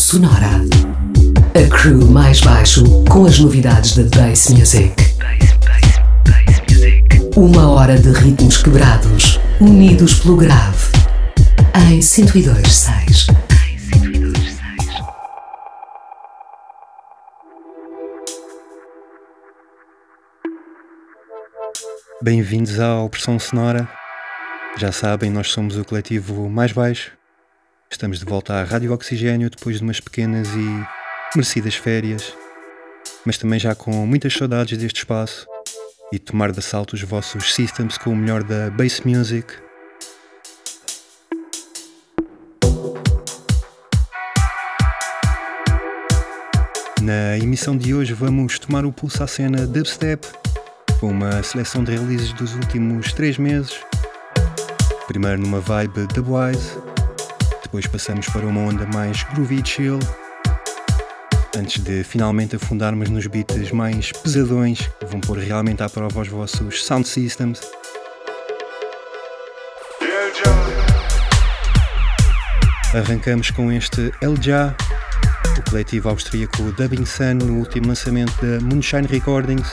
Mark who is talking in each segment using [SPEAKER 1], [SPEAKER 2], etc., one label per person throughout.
[SPEAKER 1] Sonora. A crew mais baixo com as novidades da Bass Music. Uma hora de ritmos quebrados, unidos pelo grave. Em 102.6.
[SPEAKER 2] Bem-vindos à Opressão Sonora. Já sabem, nós somos o coletivo mais baixo. Estamos de volta à Rádio Oxigênio depois de umas pequenas e merecidas férias, mas também já com muitas saudades deste espaço e tomar de assalto os vossos systems com o melhor da Bass Music. Na emissão de hoje vamos tomar o pulso à cena dubstep, com uma seleção de releases dos últimos 3 meses. Primeiro numa vibe dubwise, depois passamos para uma onda mais groovy e chill, antes de finalmente afundarmos nos beats mais pesadões que vão pôr realmente à prova os vossos sound systems. Arrancamos com este El Ja, o coletivo austríaco Dubbing Sun, no último lançamento da Moonshine Recordings.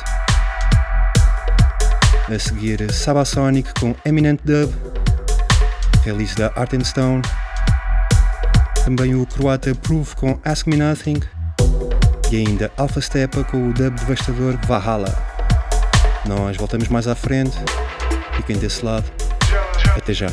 [SPEAKER 2] A seguir Sabasonic com Eminent Dub, release da Art & Stone. Também o croata Proof com Ask Me Nothing. E ainda Alpha Stepa com o dub devastador Valhalla. Nós voltamos mais à frente. Fiquem desse lado. Até já.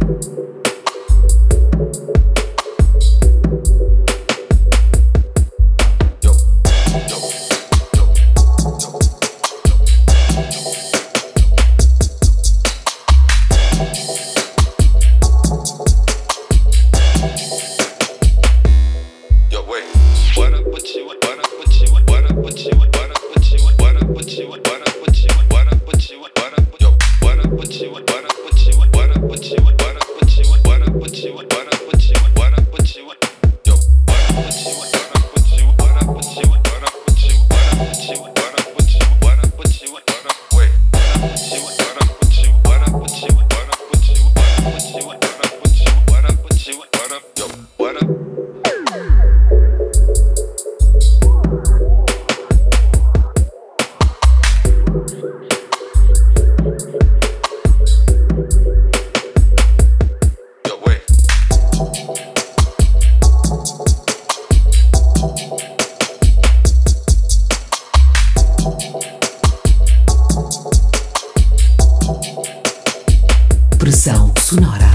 [SPEAKER 1] Pressão sonora.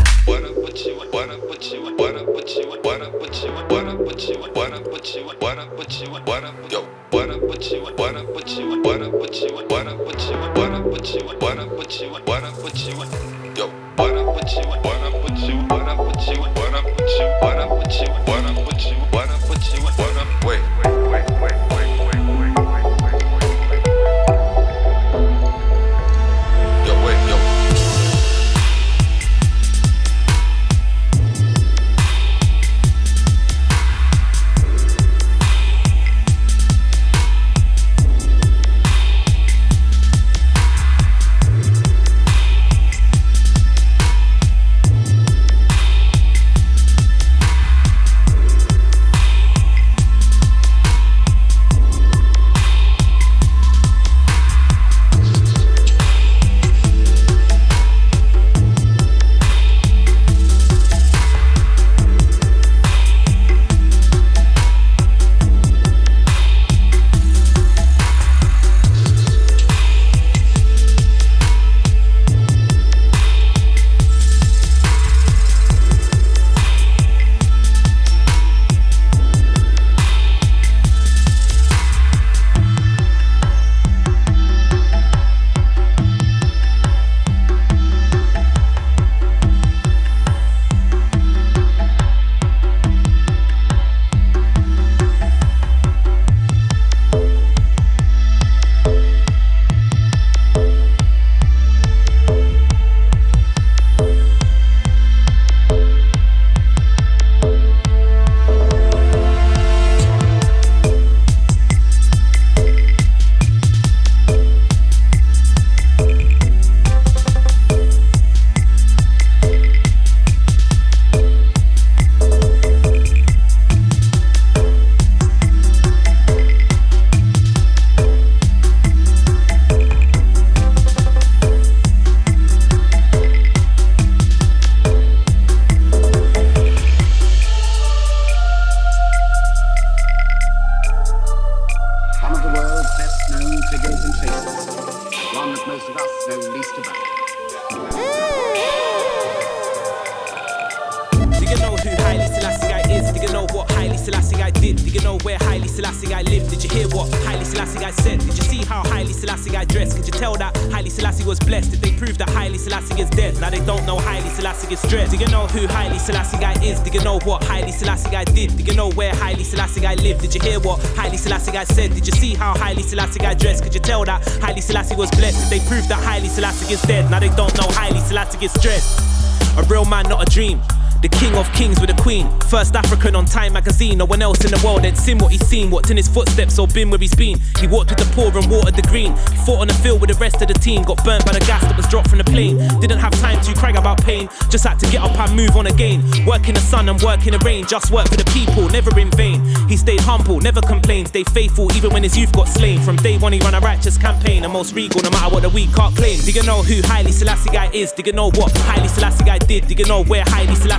[SPEAKER 3] First African on Time magazine, no one else in the world had seen what he's seen, walked in his footsteps or been where he's been. He walked with the poor and watered the green, fought on the field with the rest of the team, got burnt by the gas that was dropped from the plane. Didn't have time to cry about pain, just had to get up and move on again. Work in the sun and work in the rain, just work for the people, never in vain. He stayed humble, never complained, stayed faithful even when his youth got slain. From day one he ran a righteous campaign, the most regal no matter what the weak can't claim. Do you know who Haile Selassie guy is? Do you know what Haile Selassie guy did? Do you know where Haile Selassie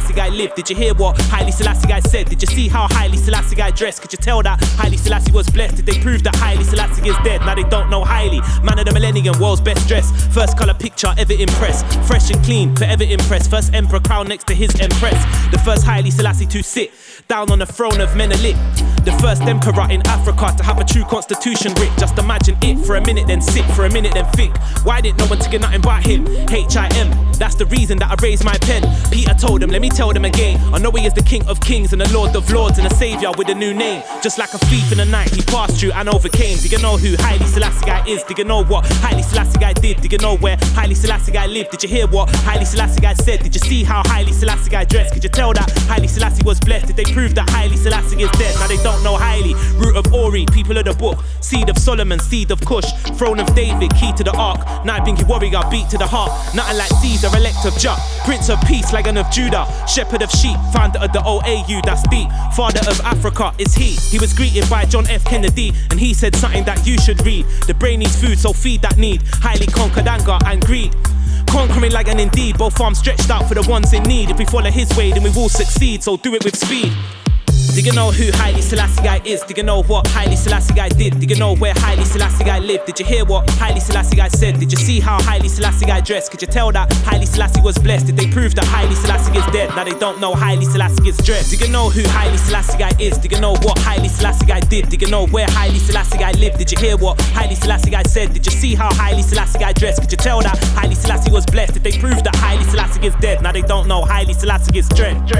[SPEAKER 3] Selassie guy lived? Did you hear what Haile Selassie guy said? Did you see how Haile Selassie guy dressed? Could you tell that Haile Selassie was blessed? Did they prove that Haile Selassie is dead? Now they don't know Haile. Man of the millennium, world's best dressed. First colour picture ever impressed. Fresh and clean, forever impressed. First emperor crown next to his empress. The first Haile Selassie to sit down on the throne of Menelik. The first emperor in Africa to have a true constitution writ. Just imagine it for a minute, then sit for a minute, then think. Why didn't no one take nothing but him? H-I-M, that's the reason that I raised my pen. Peter told him, let me tell them again. I know he is the King of Kings and the Lord of Lords and a Saviour with a new name. Just like a thief in the night, he passed through and overcame. Do you know who Haile Selassie guy is? Do you know what Haile Selassie guy did? Do you know where Haile Selassie guy lived? Did you hear what Haile Selassie guy said? Did you see how Haile Selassie guy dressed? Could you tell that Haile Selassie was blessed? Did they prove that Haile Selassie is dead? Now they don't know Haile. Root of Ori, people of the book. Seed of Solomon, seed of Cush. Throne of David, key to the ark. Nine-bingy warrior, beat to the heart. Nothing like Caesar, elect of Jah. Prince of peace, Lagan of Judah. Shepherd of sheep, founder of the OAU, that's deep. Father of Africa is he. He was greeted by John F. Kennedy, and he said something that you should read. The brain needs food, so feed that need. Highly conquered anger and greed. Conquering like an indeed, both arms stretched out for the ones in need. If we follow his way, then we will succeed, so do it with speed. Do you know who Haile Selassie guy is? Do you know what Haile Selassie guy did? Do you know where Haile Selassie guy lived? Did you hear what Haile Selassie guy said? Did you see how Haile Selassie guy dressed? Could you tell that Haile Selassie was blessed? Did they prove that Haile Selassie is dead? Now they don't know Haile Selassie is dressed. Do you know who Haile Selassie guy is? Do you know what Haile Selassie guy did? Do you know where Haile Selassie guy lived? Did you hear what Haile Selassie guy said? Did you see how Haile Selassie guy dressed? Could you tell that Haile Selassie was blessed? Did they prove that Haile Selassie is dead? Now they don't know Haile Selassie is dressed.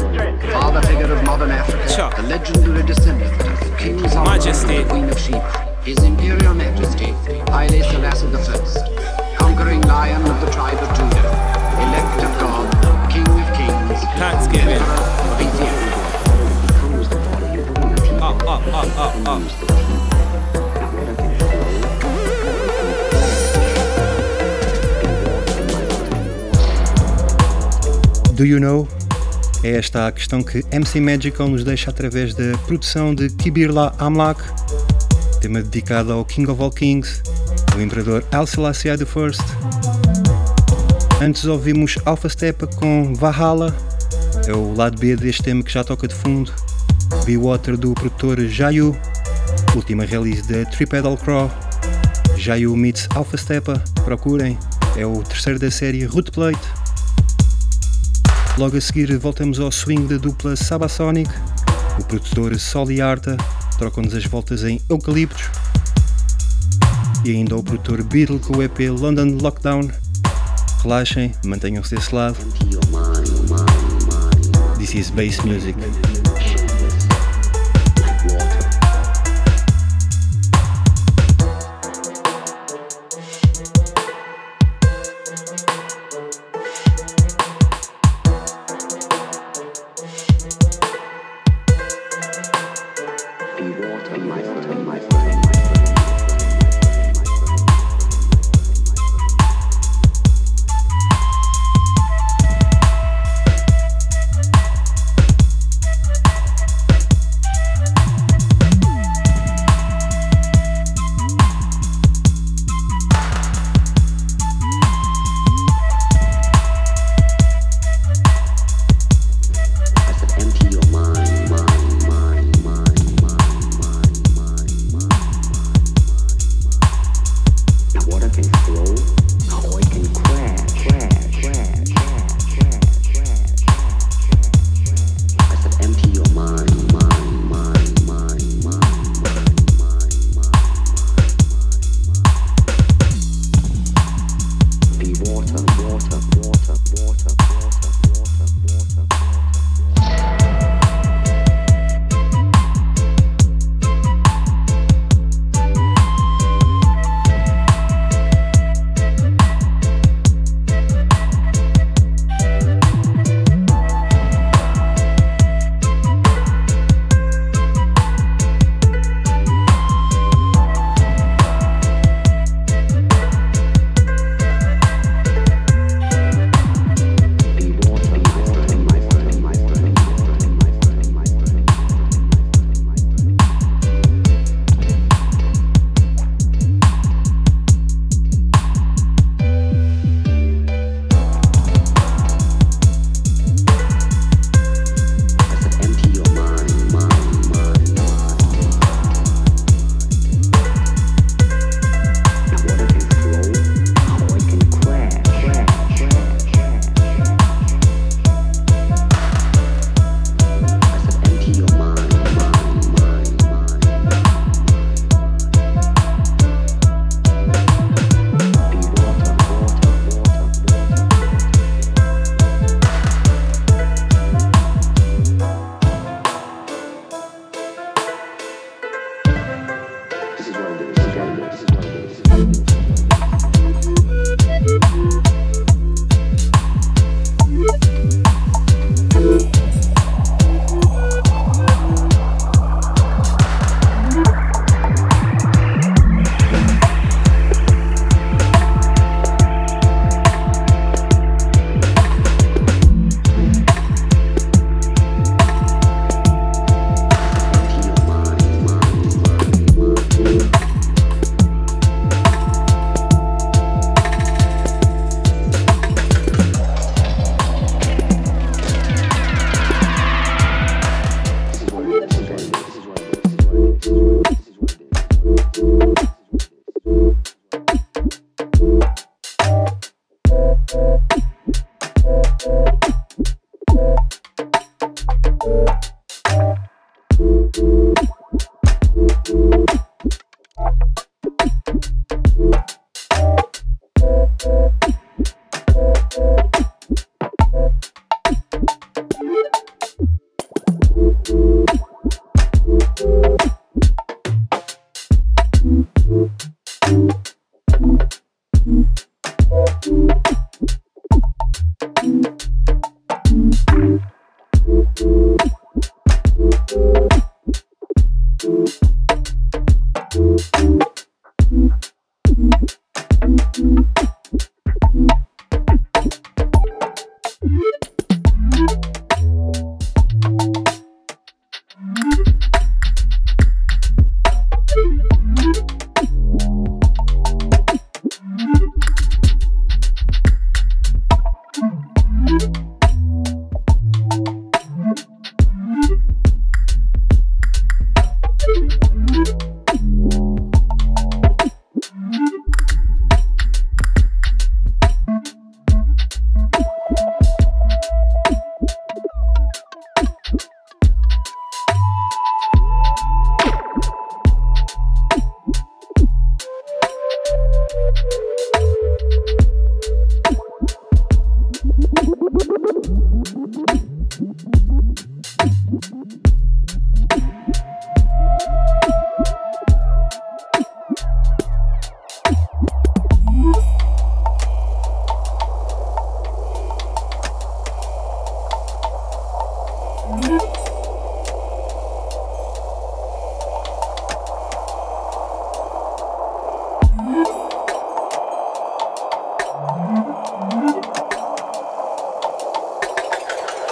[SPEAKER 4] Father figure of modern Africa, the legendary descendant of King Solomon,
[SPEAKER 3] Majesty,
[SPEAKER 4] Queen of Sheba, His Imperial Majesty, Haile Selassie I, conquering lion of the tribe of Judah, elect of God, King of Kings,
[SPEAKER 3] Thanksgiving.
[SPEAKER 4] Emperor of Ethiopia.
[SPEAKER 3] Up.
[SPEAKER 2] Do you know? É esta a questão que MC Magical nos deixa através da produção de Kibirla Amlak, tema dedicado ao King of All Kings, o Imperador Haile Selassie I. Antes ouvimos Alpha Steppa com Valhalla, é o lado B deste tema que já toca de fundo. Be Water do produtor Jayu, última release da Tripedal Craw. Jayu meets Alpha Steppa, procurem, é o terceiro da série Root Plate. Logo a seguir voltamos ao swing da dupla Sabasonic, o produtor Sol e Arta trocam-nos as voltas em Eucaliptos, e ainda o produtor Beatle com o EP London Lockdown. Relaxem, mantenham-se desse lado. This is Bass Music.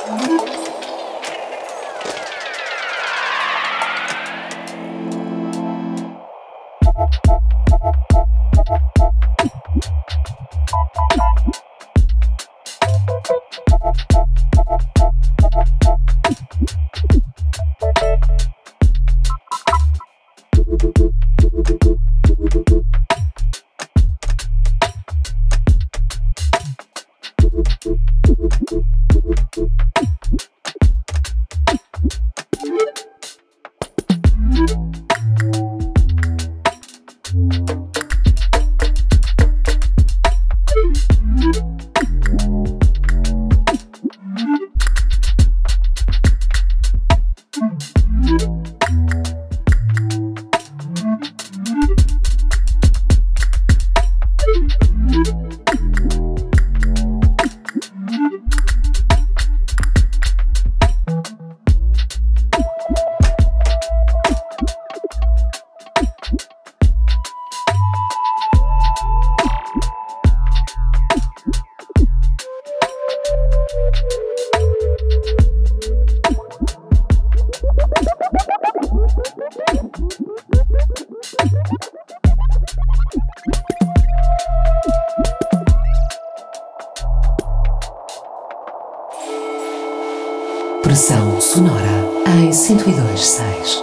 [SPEAKER 1] Pressão sonora em 102.6.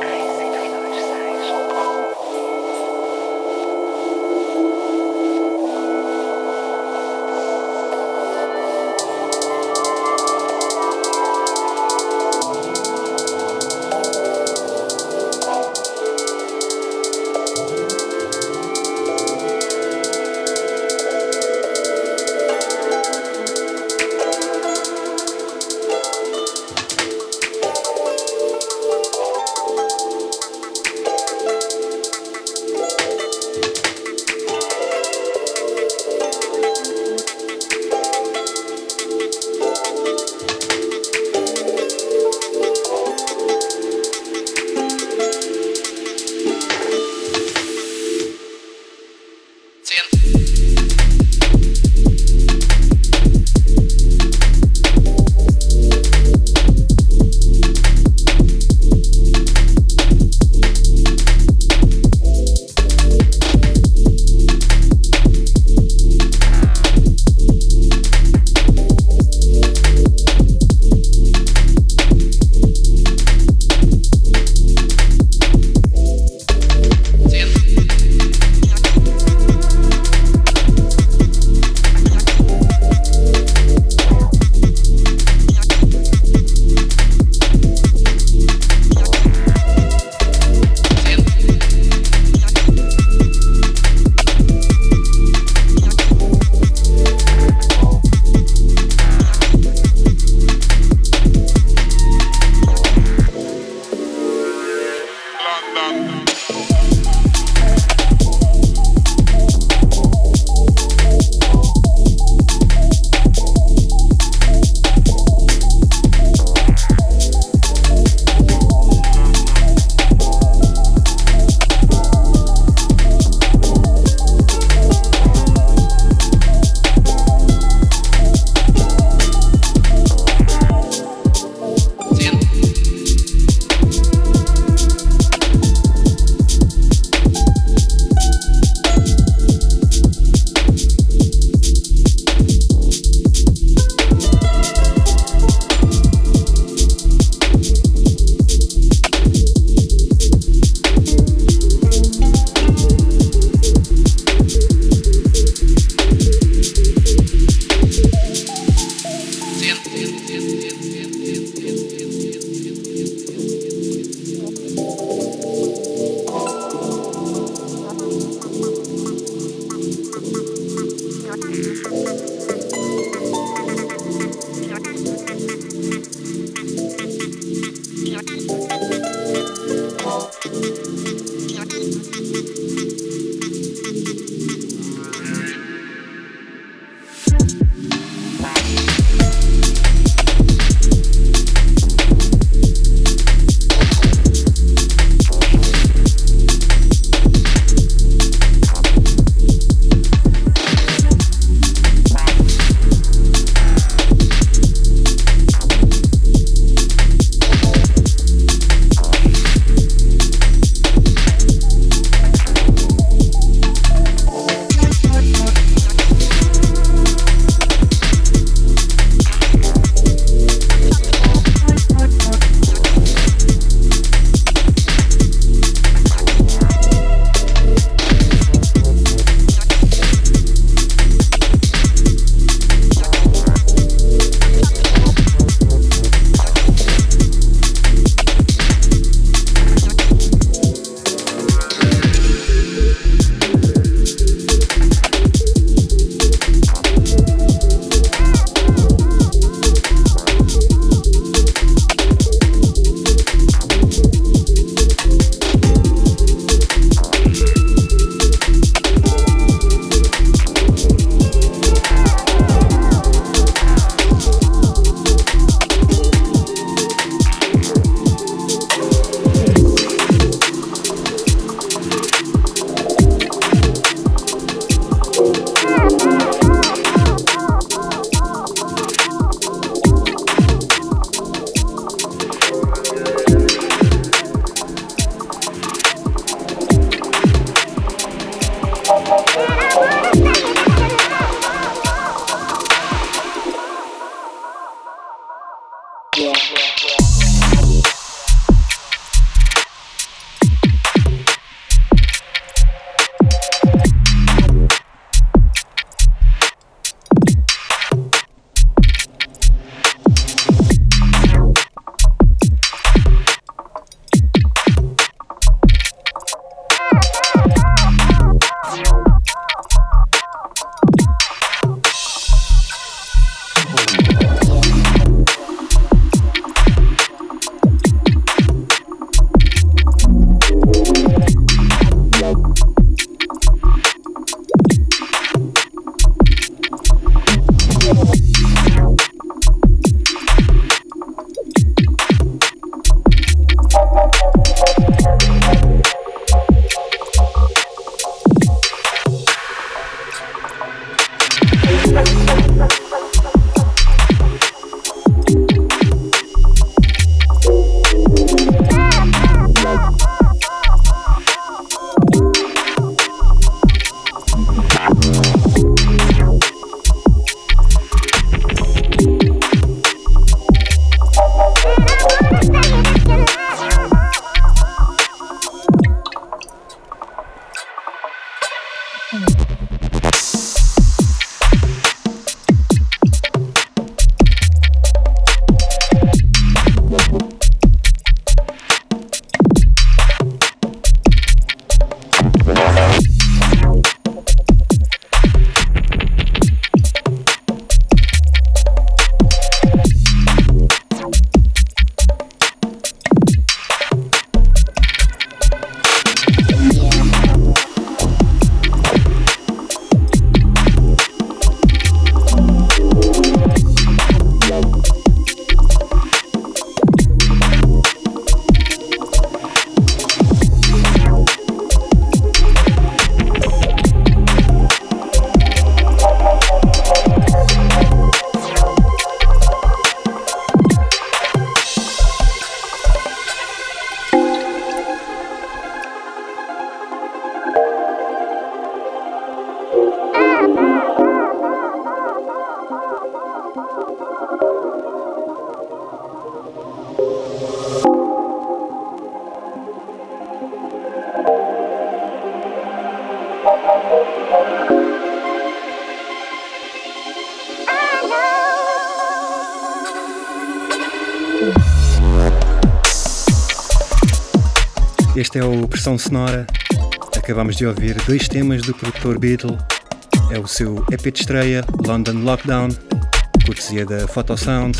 [SPEAKER 2] Este é o Pressão Sonora. Acabamos de ouvir 2 temas do produtor Beatle. É o seu EP de estreia, London Lockdown, cortesia da Photosound.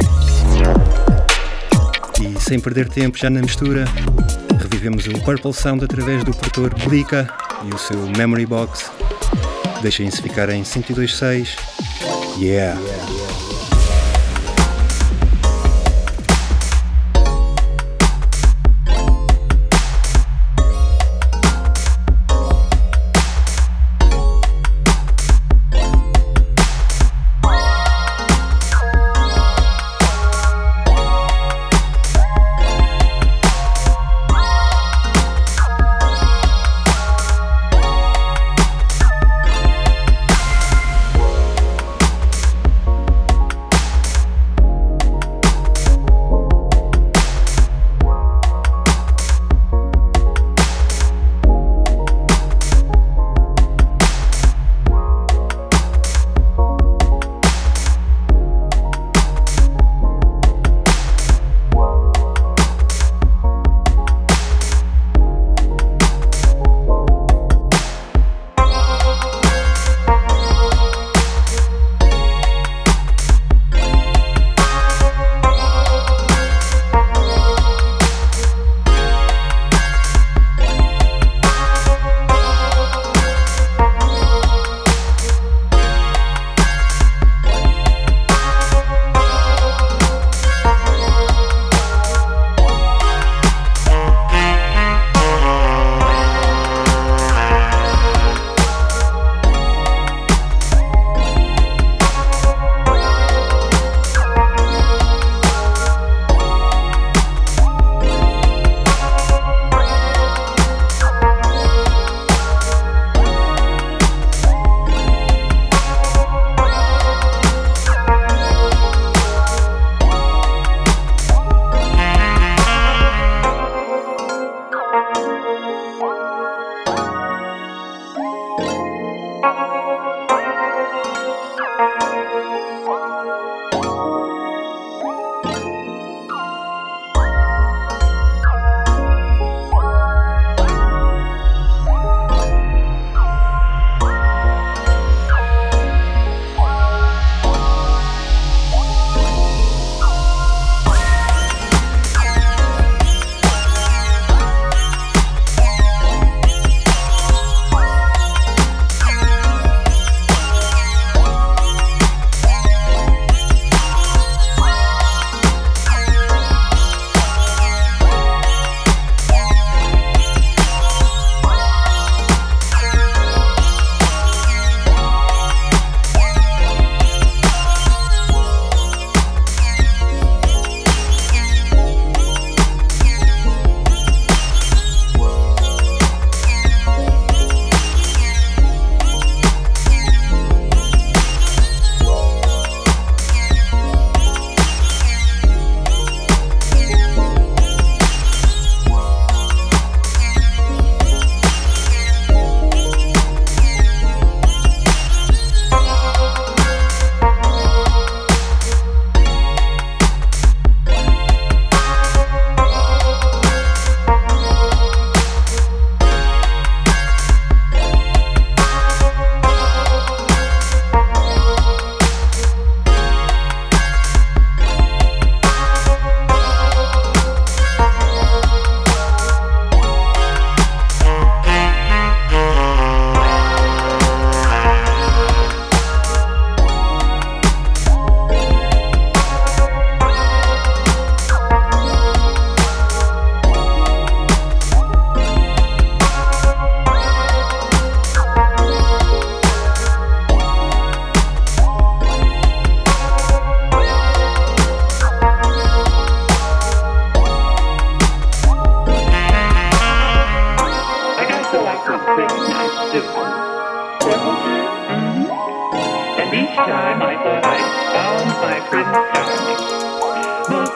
[SPEAKER 2] E sem perder tempo, já na mistura, revivemos o Purple Sound através do produtor Blika e o seu Memory Box. Deixem-se ficar em 102.6. Yeah!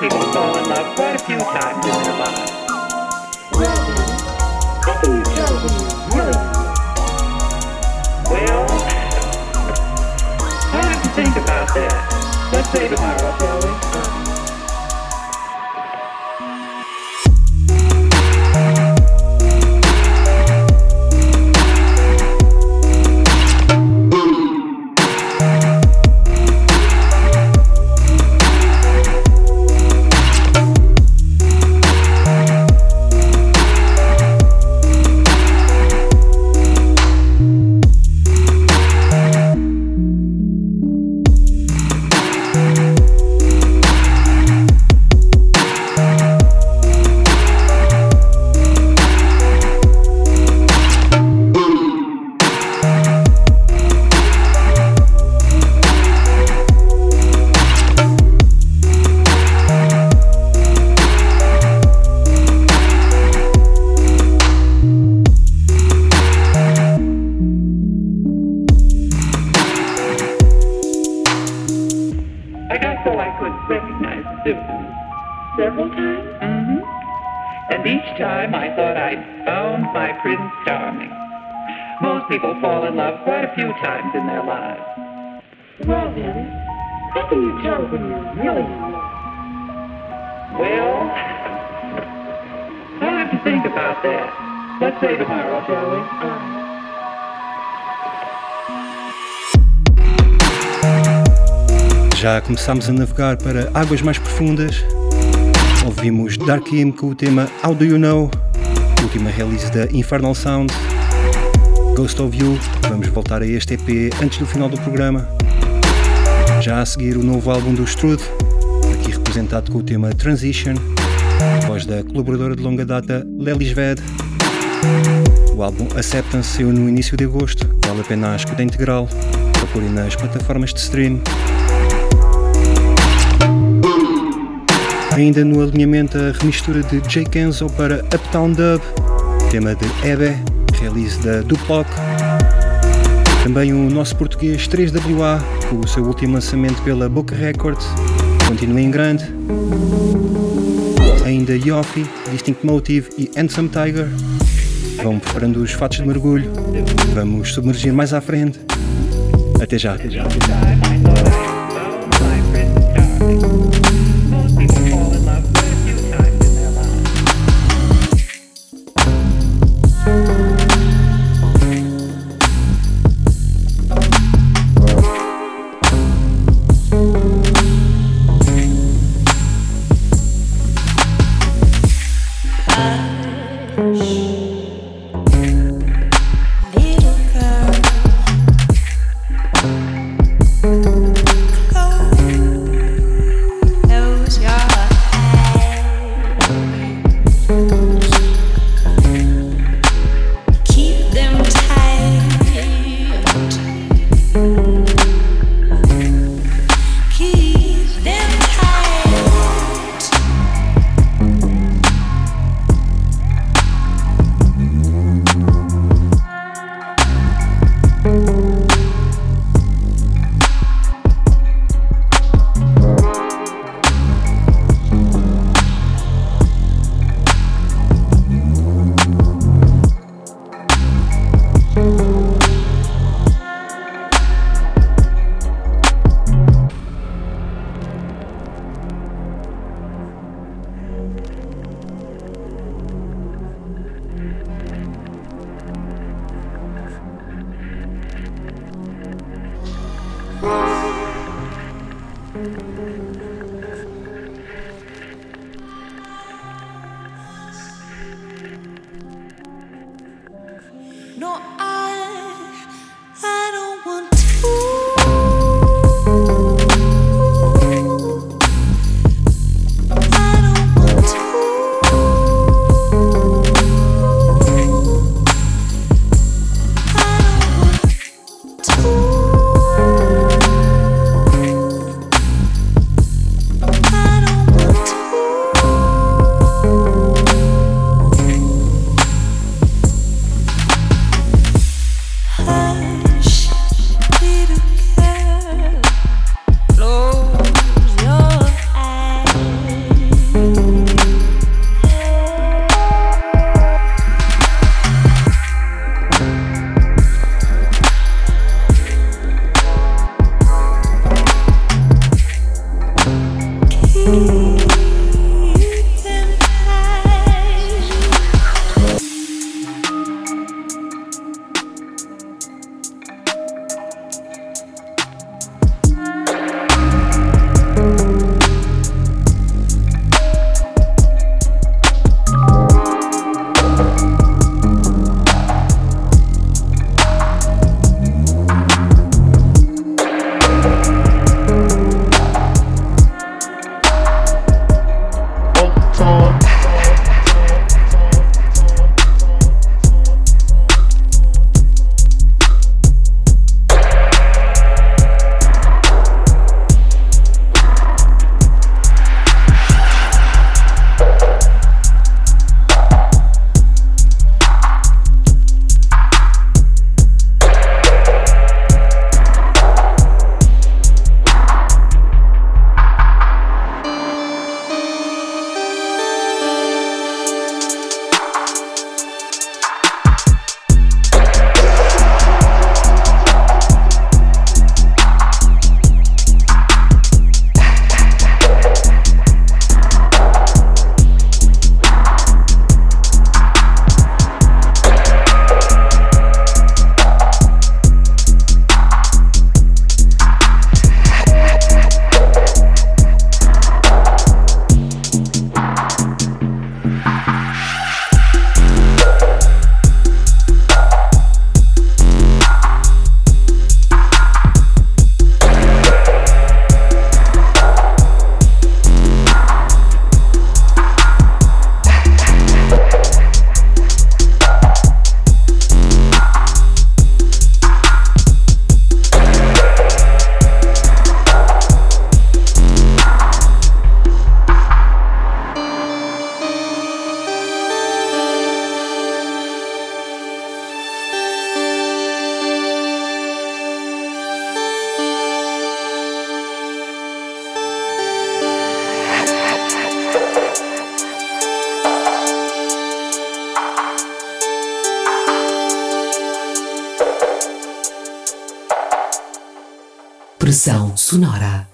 [SPEAKER 5] people fall in love quite a few times in their lives.
[SPEAKER 6] How can you tell when you really
[SPEAKER 5] Well, I'll have to think about that. Let's say tomorrow, shall we?
[SPEAKER 6] several times?
[SPEAKER 5] Mm-hmm. And each time I thought I'd found my Prince Charming. Most people fall in love quite a few times in their lives.
[SPEAKER 6] Well then, how can you tell when you're really in love?
[SPEAKER 5] Well, I'll have to think about that. Let's say tomorrow, shall we?
[SPEAKER 2] Já começámos a navegar para águas mais profundas. Ouvimos Darkim com o tema How Do You Know, última release da Infernal Sound. Ghost of You, vamos voltar a este EP antes do final do programa. Já a seguir o novo álbum do Strude, aqui representado com o tema Transition, voz da colaboradora de longa data Lelis Ved. O álbum Acceptance saiu no início de agosto, vale a pena a escuta integral, procurem nas plataformas de stream. Ainda no alinhamento a remistura de Jay Kenzo para Uptown Dub, tema de Ebe, release da Duplock. Também o nosso português 3WA, com o seu último lançamento pela Boca Records, continua em grande. Ainda Yofi, Distinct Motive e Handsome Tiger vão preparando os fatos de mergulho. Vamos submergir mais à frente. Até já.
[SPEAKER 1] Pressão sonora.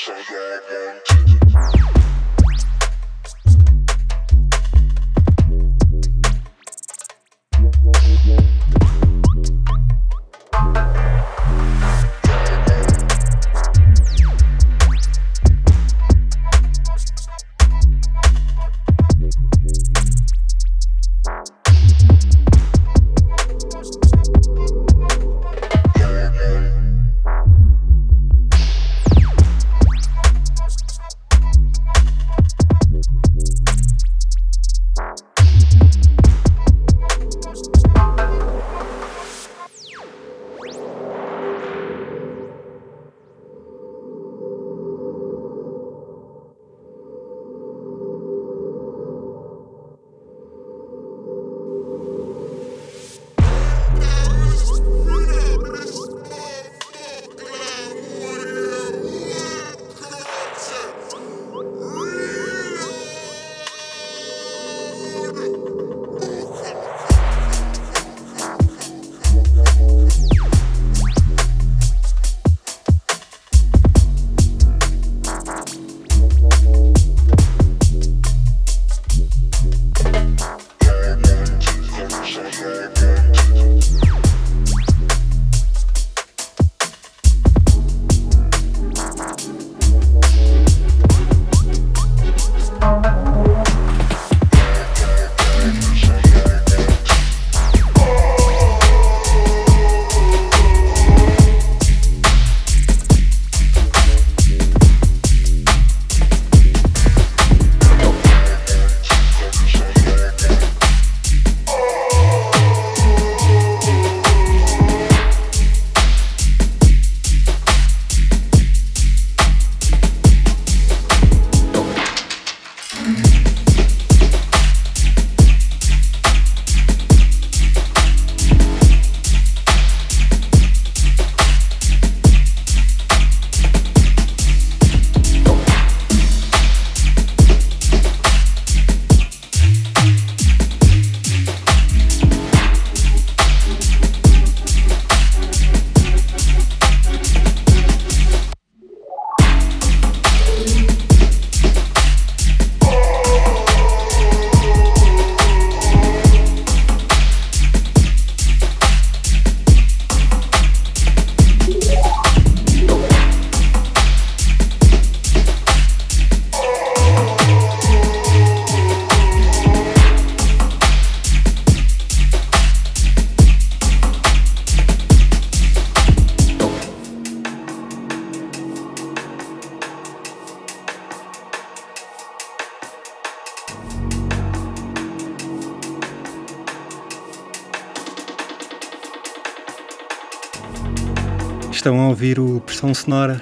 [SPEAKER 2] Estão a ouvir o Pressão Sonora,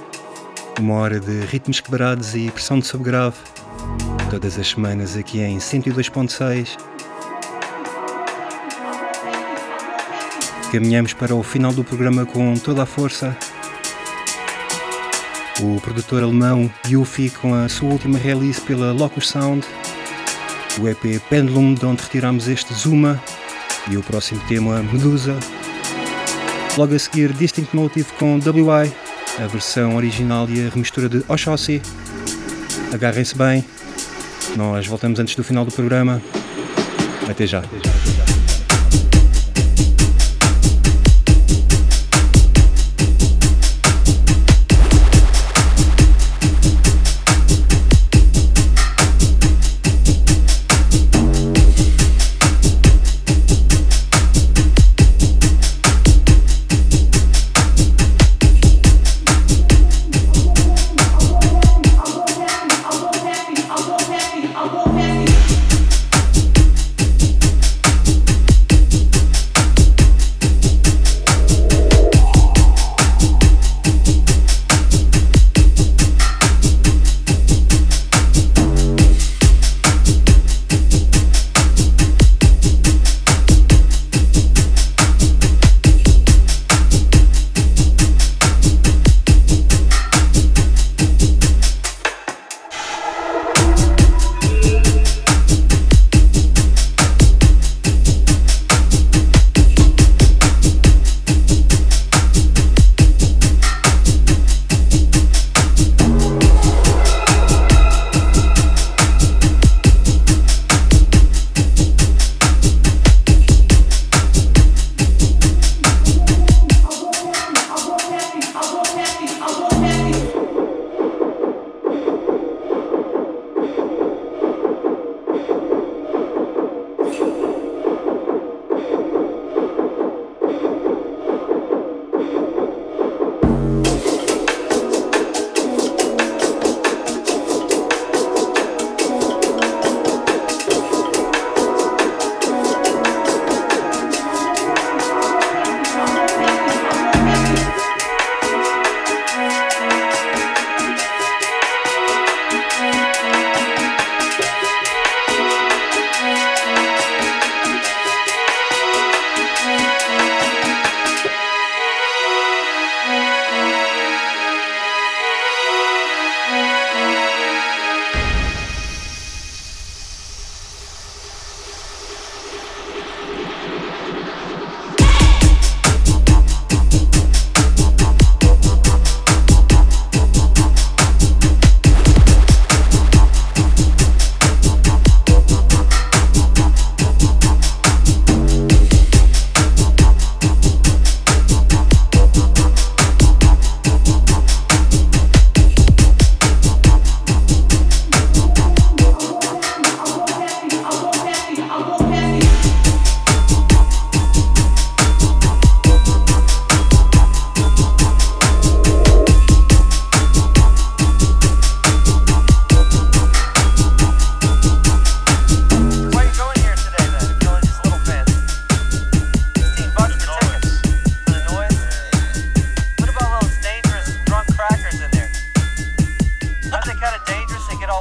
[SPEAKER 2] uma hora de ritmos quebrados e pressão de subgrave, todas as semanas aqui em 102.6. Caminhamos para o final do programa com toda a força. O produtor alemão Yuffie com a sua última release pela Locus Sound, o EP Pendulum, de onde retiramos este Zuma, e o próximo tema Medusa. Logo a seguir Distinct Motive com WI, a versão original e a remistura de Oshossi. Agarrem-se bem, nós voltamos antes do final do programa. Até já.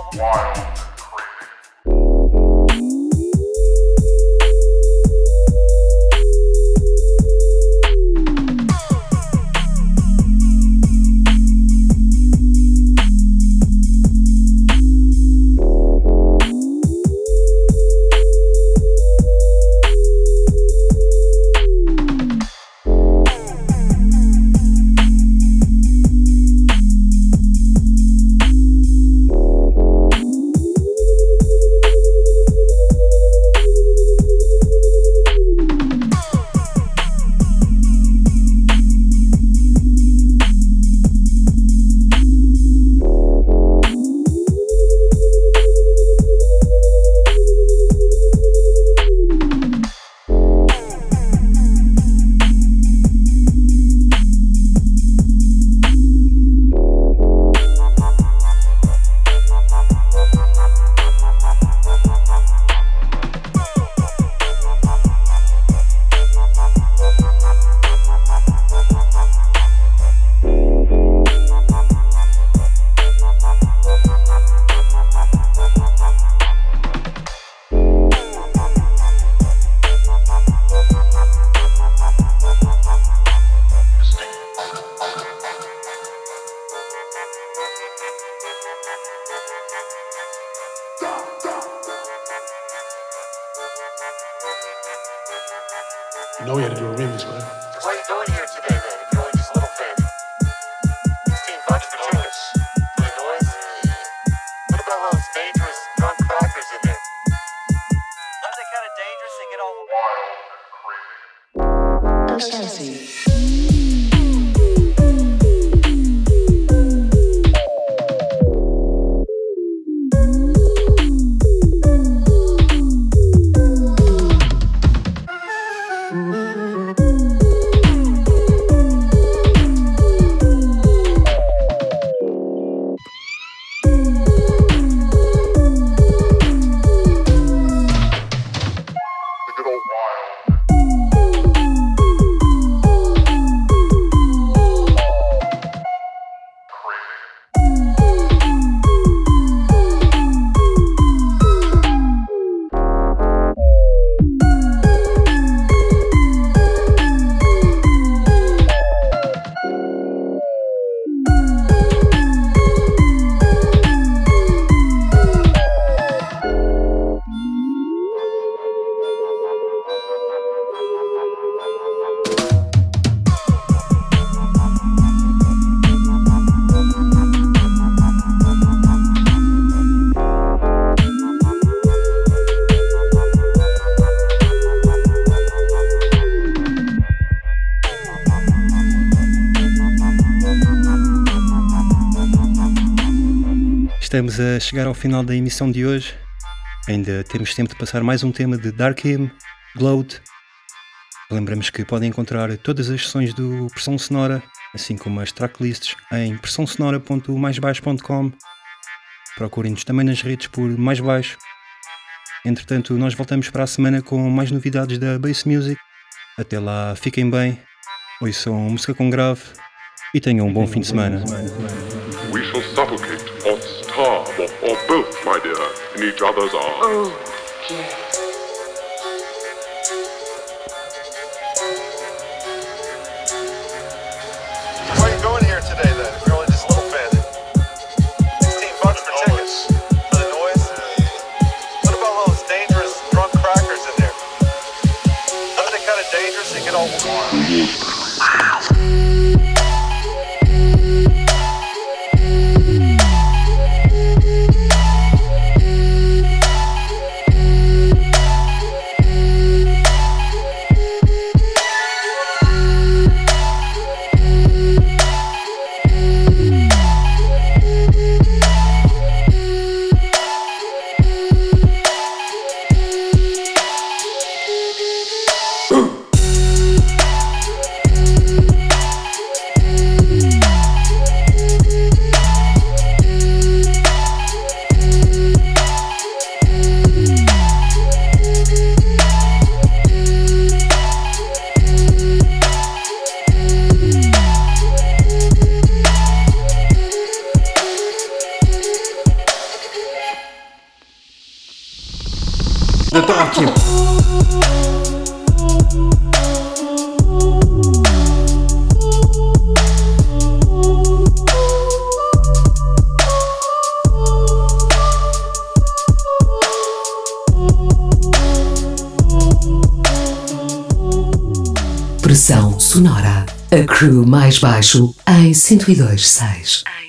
[SPEAKER 7] You know we had to do a remix, right?
[SPEAKER 8] What are you doing here today, then, if you're only just a little fan? 16 bucks for tickets. For the noise? What about those dangerous drunk crackers in there? Aren't they kind of dangerous? They get all wild and crazy.
[SPEAKER 2] Estamos a chegar ao final da emissão de hoje. Ainda temos tempo de passar mais um tema de Dark Hymn, Glowed. Lembramos que podem encontrar todas as sessões do Pressão Sonora, assim como as tracklists, em pressãosonora.maisbaixo.com. Procurem-nos também nas redes por Mais Baixo. Entretanto, nós voltamos para a semana com mais novidades da Bass Music. Até lá, fiquem bem, ouçam música com grave e tenham um bom fim de semana.
[SPEAKER 9] We shall suffocate or starve or both, my dear, in each other's arms.
[SPEAKER 8] Oh, yes.
[SPEAKER 10] Where are you going here today, then, if you're only just a little fan? 16 bucks for tickets. For the noise? What about those dangerous drunk crackers in there? Aren't they kind of dangerous? They get all wild.
[SPEAKER 11] Tóquio.
[SPEAKER 1] Pressão sonora. A crew mais baixo em 102.6.